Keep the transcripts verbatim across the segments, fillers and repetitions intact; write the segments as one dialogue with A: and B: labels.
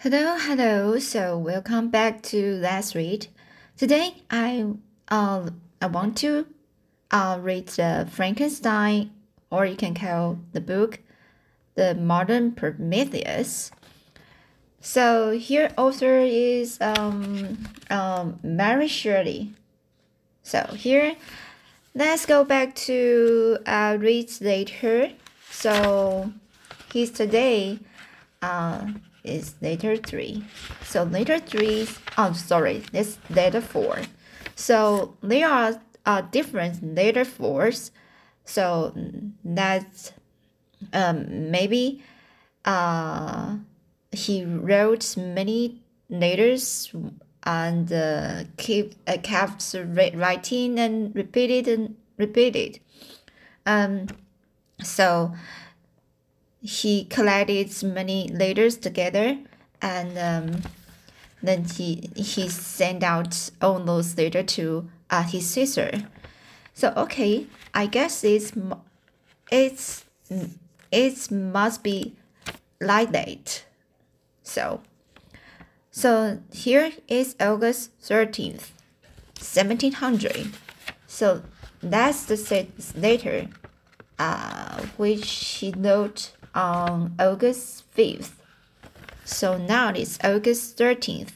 A: Hello, hello. So welcome back to Let's Read. Today I uh I want to uh read the Frankenstein, or you can call the book The Modern Prometheus. So here author is um um Mary Shirley. So here let's go back to uh read later. So he's today uh is letter three. So letter three, oh sorry, this letter four. So there are uh, different letter fours. So that's um, maybe uh, he wrote many letters and uh, keep uh, kept writing and repeated and repeated. Um, so he collected many letters together, and um, then he he sent out all those letters to uh, his sister. So okay, I guess it's it's it must be like that. So so here is August thirteenth, seventeen hundred. So that's the letter uh, which he wrote on August fifth. So now it's August thirteenth.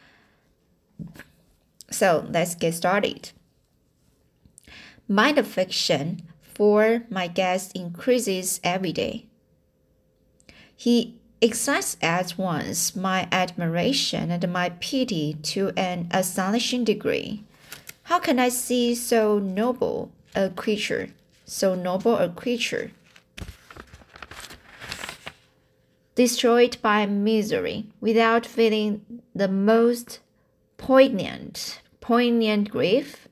A: So let's get started. My affection for my guest increases every day. He excites at once my admiration and my pity to an astonishing degree. How can I see so noble a creature, so noble a creature, destroyed by misery, without feeling the most poignant, poignant grief?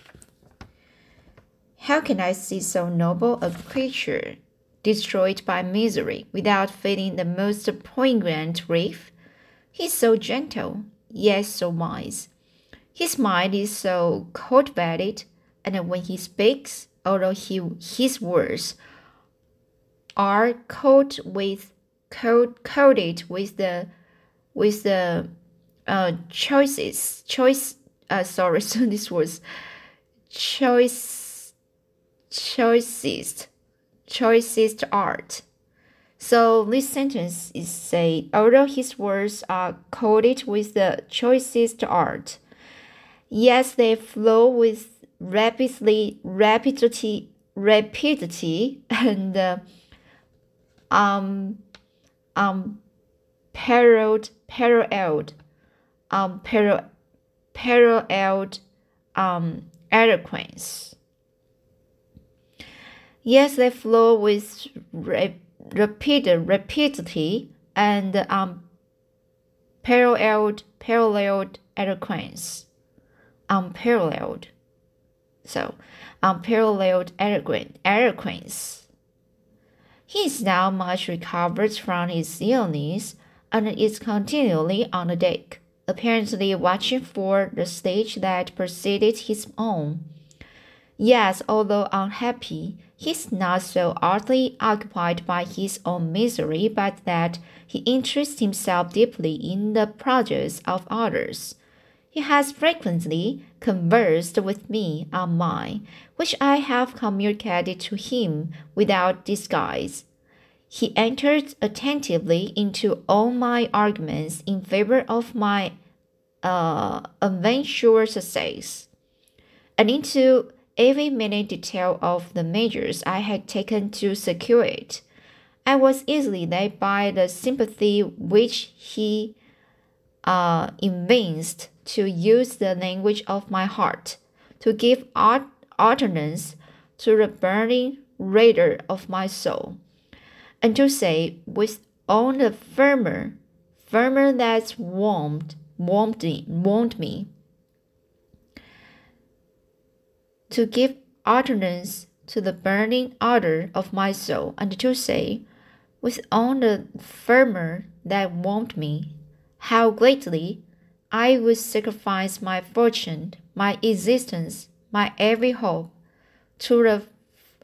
A: How can I see so noble a creature destroyed by misery, without feeling the most poignant grief? He is so gentle, yet so wise. His mind is so cultivated, and when he speaks, although he, his words are coated with coated with the with the uh, choices choice uh, sorry so this was choice choicest choicest art. So this sentence is say, although his words are coated with the choicest art, yes, they flow with rapidly rapidity rapidity and uh, um um paralleled paralleled um parallel paralleled um eloquence. Yes, they flow with rapid rapidity and um paralleled paralleled eloquence. Unparalleled. So unparalleled eloquence. He is now much recovered from his illness and is continually on the deck, apparently watching for the stage that preceded his own. Yes, although unhappy, he is not so utterly occupied by his own misery but that he interests himself deeply in the projects of others. He has frequently conversed with me on mine, which I have communicated to him without disguise. He entered attentively into all my arguments in favor of my uh, eventual success, and into every minute detail of the measures I had taken to secure it. I was easily led by the sympathy which he uh, evinced to use the language of my heart, to give art utterance to the burning radar of my soul, and to say with all the firmer, firmer that warmed, warmed me, warmed me, to give utterance to the burning ardor of my soul, and to say, with all the firmer that warmed me, how greatly I would sacrifice my fortune, my existence, my every hope, to the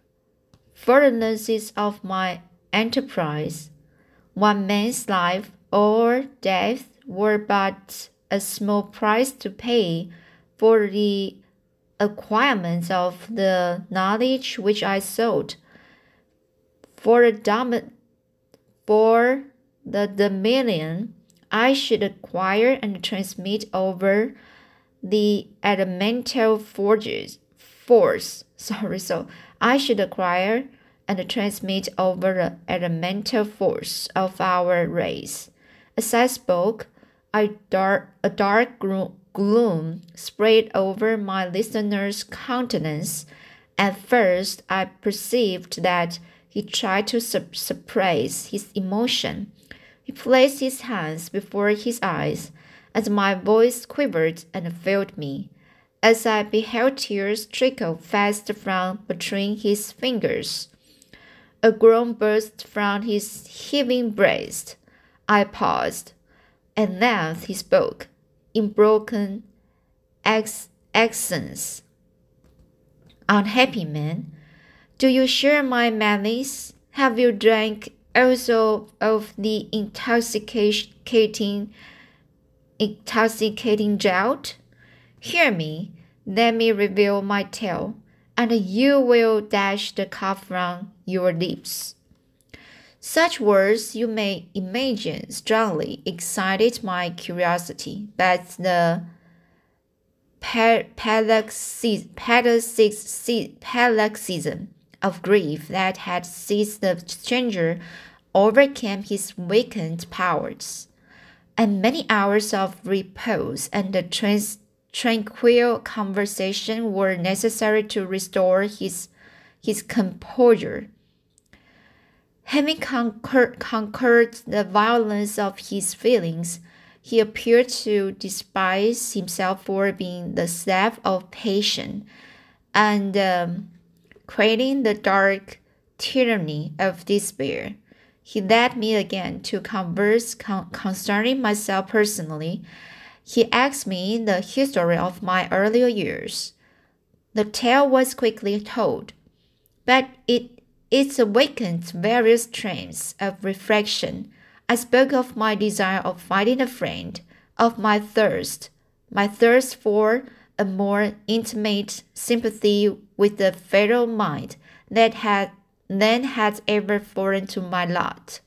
A: furtherance of my enterprise. One man's life or death were but a small price to pay for the acquirement of the knowledge which I sought. For the, dom- for the dominion I should acquire and transmit over the elemental forces, force. Sorry, so I should acquire and transmit over the elemental force of our race. As I spoke, a dark, a dark gloom spread over my listener's countenance. At first, I perceived that he tried to sup- suppress his emotion. He placed his hands before his eyes, as my voice quivered and failed me, as I beheld tears trickle fast from between his fingers. A groan burst from his heaving breast. I paused, and then he spoke, in broken ex- accents. Unhappy man, do you share my malice? Have you drank also of the intoxicating, intoxicating draught? Hear me, let me reveal my tale, and you will dash the cup from your lips. Such words, you may imagine, strongly excited my curiosity, but the paroxysm of grief that had seized the stranger overcame his weakened powers, and many hours of repose and the trans- tranquil conversation were necessary to restore his, his composure. Having conquer- conquered the violence of his feelings, he appeared to despise himself for being the slave of passion and um, creating the dark tyranny of despair. He led me again to converse con- concerning myself personally. He asked me the history of my earlier years. The tale was quickly told, but it it awakened various trains of reflection. I spoke of my desire of finding a friend, of my thirst, my thirst for a more intimate sympathy with the fatal mind that had then had ever fallen to my lot,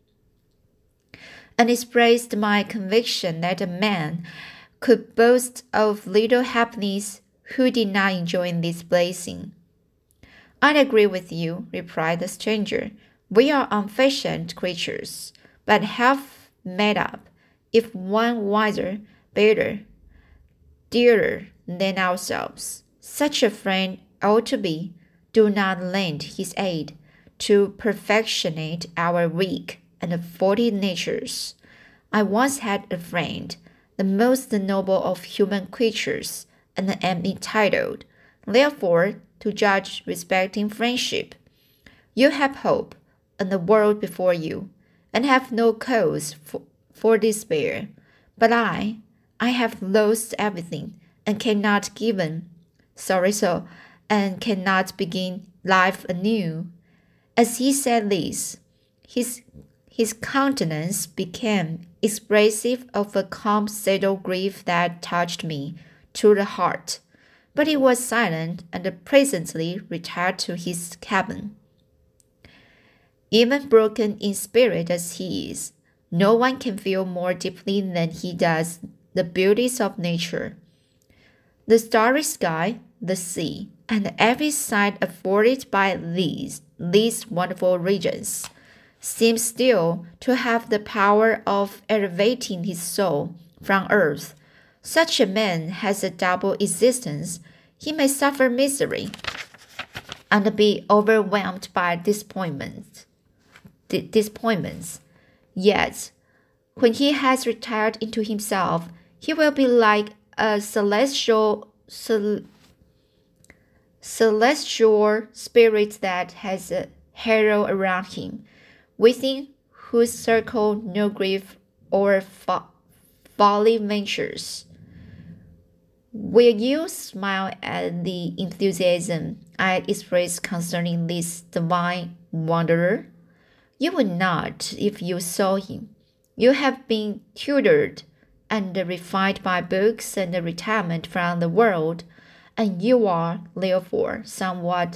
A: and expressed my conviction that a man could boast of little happiness who did not enjoy this blessing. I agree with you, replied the stranger. We are unfashioned creatures, but half made up, if one wiser, better, dearer than ourselves. Such a friend ought to be. Do not lend his aid to perfectionate our weak and faulty natures. I once had a friend, the most noble of human creatures, and am entitled, therefore, to judge respecting friendship. You have hope and the world before you, and have no cause for, for despair. But I, I have lost everything, and cannot given, sorry so, and cannot begin life anew. As he said this, his his countenance became expressive of a calm, settled grief that touched me to the heart. But he was silent and presently retired to his cabin. Even broken in spirit as he is, no one can feel more deeply than he does the beauties of nature. The starry sky, the sea, and every sight afforded by these, these wonderful regions seem still to have the power of elevating his soul from earth. Such a man has a double existence. He may suffer misery and be overwhelmed by disappointment, di- disappointments. Yet, when he has retired into himself, he will be like a celestial, cel- celestial spirit that has a halo around him, within whose circle no grief or fo- folly ventures. Will you smile at the enthusiasm I express concerning this divine wanderer? You would not if you saw him. You have been tutored and refined by books and retirement from the world, and you are, therefore, somewhat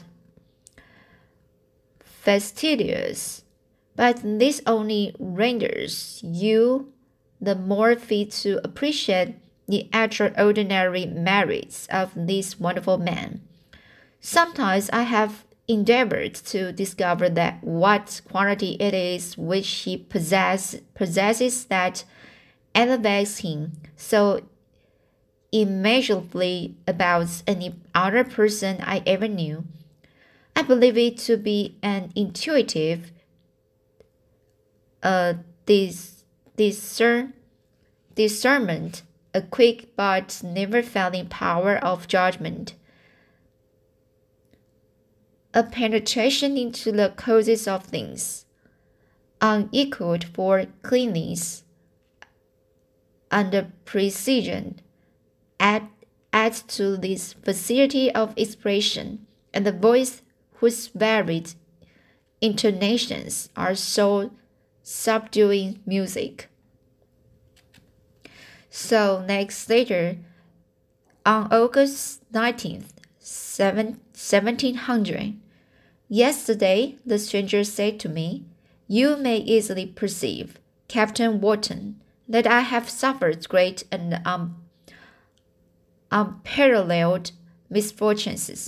A: fastidious. But this only renders you the more fit to appreciate the extraordinary merits of this wonderful man. Sometimes I have endeavored to discover that what quality it is which he possess, possesses that elevates him so immeasurably above any other person I ever knew. I believe it to be an intuitive uh, dis- discern- discernment, a quick but never failing power of judgment, a penetration into the causes of things, unequaled for clearness and precision, add, add to this facility of expression, and the voice whose varied intonations are so subduing music. So next later, on August nineteenth, seventeen hundred, yesterday the stranger said to me, "You may easily perceive, Captain Wharton, that I have suffered great and um, unparalleled misfortunes.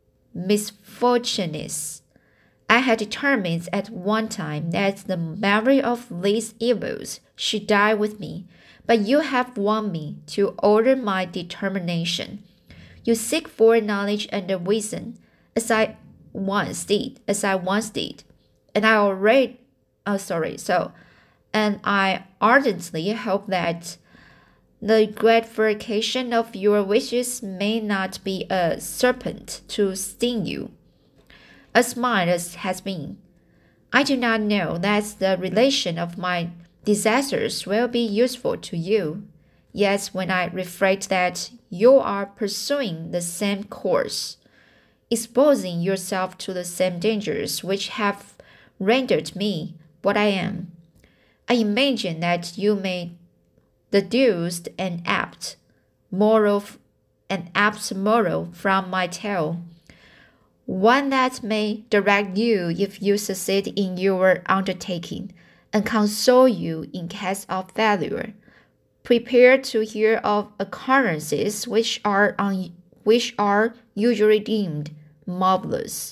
A: Misfortunes. I had determined at one time that the memory of these evils should die with me, but you have won me to alter my determination. You seek for knowledge and wisdom, as I once did, as I once did, and I already, oh sorry, so, and I ardently hope that the gratification of your wishes may not be a serpent to sting you, as mine has been. I do not know that the relation of my disasters will be useful to you. Yet when I reflect that you are pursuing the same course, exposing yourself to the same dangers which have rendered me what I am, I imagine that you may deduce an apt moral, an apt moral from my tale, one that may direct you if you succeed in your undertaking, and console you in case of failure. Prepare to hear of occurrences which are un- which are usually deemed marvelous,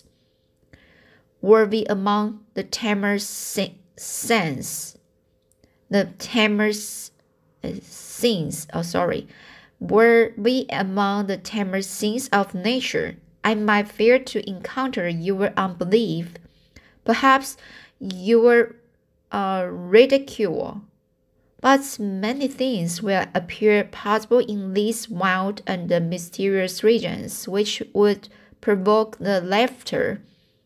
A: worthy among the tamer sense, the tamer uh, scenes. Oh, sorry, worthy among the tamer scenes of nature. I might fear to encounter your unbelief, perhaps your uh, ridicule, but many things will appear possible in these wild and mysterious regions which would provoke the laughter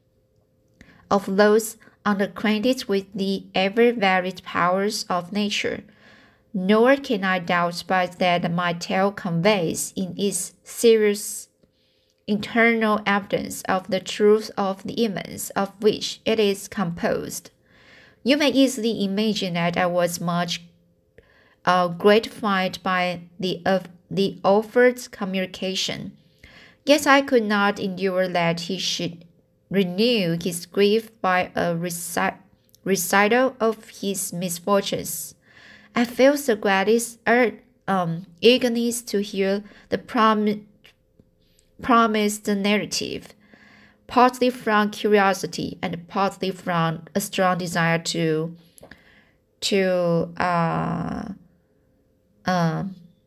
A: of those unacquainted with the ever-varied powers of nature. Nor can I doubt but that my tale conveys in its serious internal evidence of the truth of the events of which it is composed. You may easily imagine that I was much uh, gratified by the, uh, the offered communication. Yet I could not endure that he should renew his grief by a reci- recital of his misfortunes. I felt so gratis er, um, eagerness to hear the prom- promised narrative, partly from curiosity and partly from a strong desire to to uh, uh,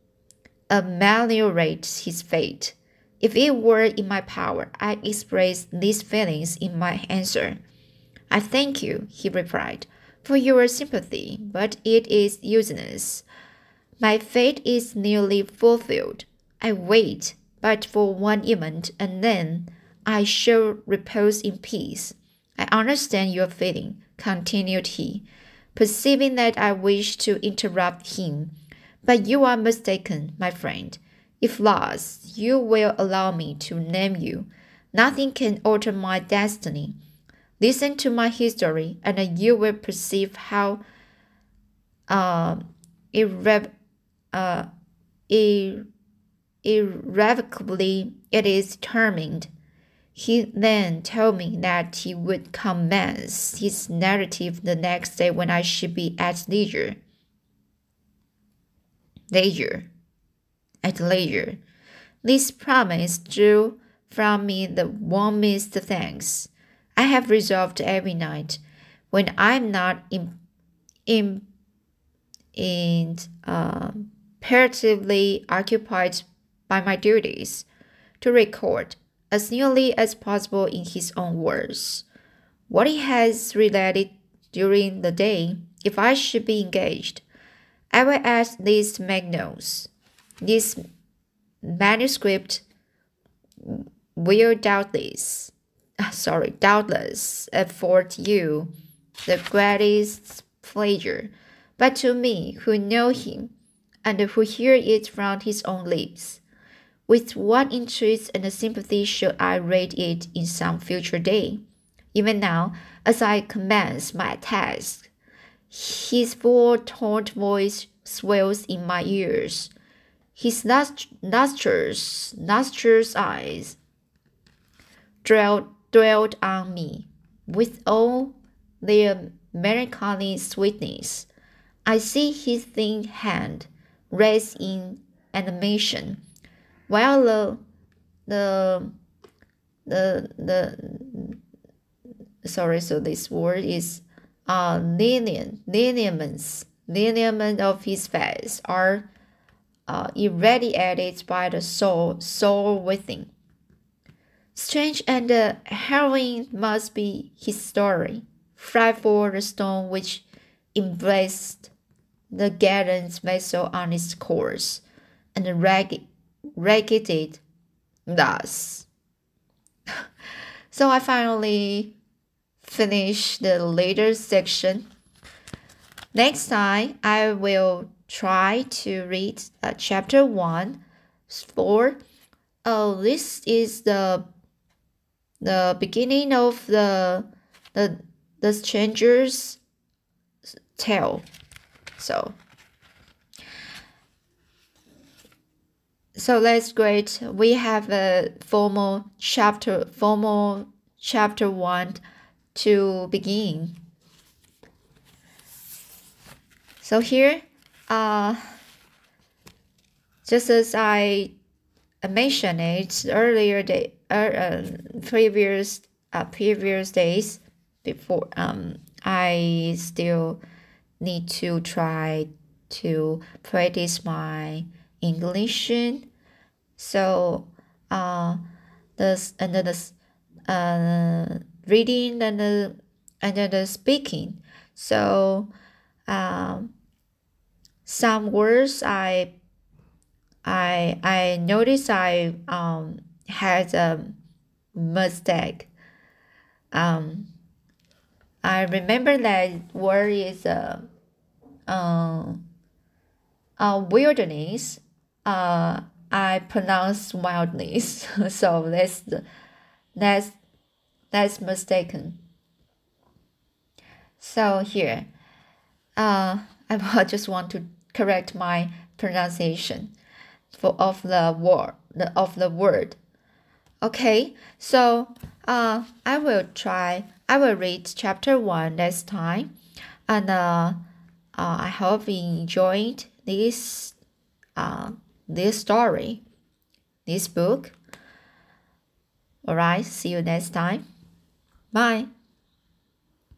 A: ameliorate his fate. If it were in my power, I expressed these feelings in my answer. I thank you, he replied, for your sympathy, but it is useless. My fate is nearly fulfilled. I wait but for one event, and then I shall repose in peace. I understand your feeling, continued he, perceiving that I wished to interrupt him. But you are mistaken, my friend. If lost, you will allow me to name you. Nothing can alter my destiny. Listen to my history, and you will perceive how uh, irre- uh, ir- irrevocably it is determined. He then told me that he would commence his narrative the next day when I should be at leisure. Leisure. At leisure. This promise drew from me the warmest thanks. I have resolved every night, when I am not in, in, in, uh, imperatively occupied by my duties, to record, as nearly as possible in his own words, what he has related during the day. If I should be engaged, I will at least make notes. This manuscript will doubtless, sorry, doubtless afford you the greatest pleasure, but to me, who know him, and who hear it from his own lips, with what interest and sympathy should I read it in some future day? Even now, as I commence my task, his full toned voice swells in my ears. His nostrils, nostrils eyes dwelled, dwelled on me with all their melancholy sweetness. I see his thin hand raised in animation, while the the the the sorry, so this word is uh linear lineaments lineament of his face are uh, irradiated by the soul soul within. Strange and uh, harrowing must be his story. Frightful the stone which embraced the gallant vessel on its course, and ragged, ragged it thus. So I finally finished the later section. Next time, I will try to read uh, chapter one. For oh, this is the the beginning of the the the stranger's tale. So so that's great. We have a formal chapter formal chapter one to begin. So here, uh, just as I mentioned it earlier, day, uh, previous uh, previous days before, um, I still need to try to practice my English. So, uh, the and the uh reading and the and the speaking. So, um, some words I I I noticed I um had a mistake. Um, I remember that word is a uh, uh, uh, wilderness. Uh, I pronounce wildness, so that's the, that's that's mistaken. So here, uh, I just want to correct my pronunciation for of the word the of the word. Okay, so uh, I will try. I will read chapter one next time, and uh, uh, I hope you enjoyed this uh this story, this book. All right, see you next time. Bye.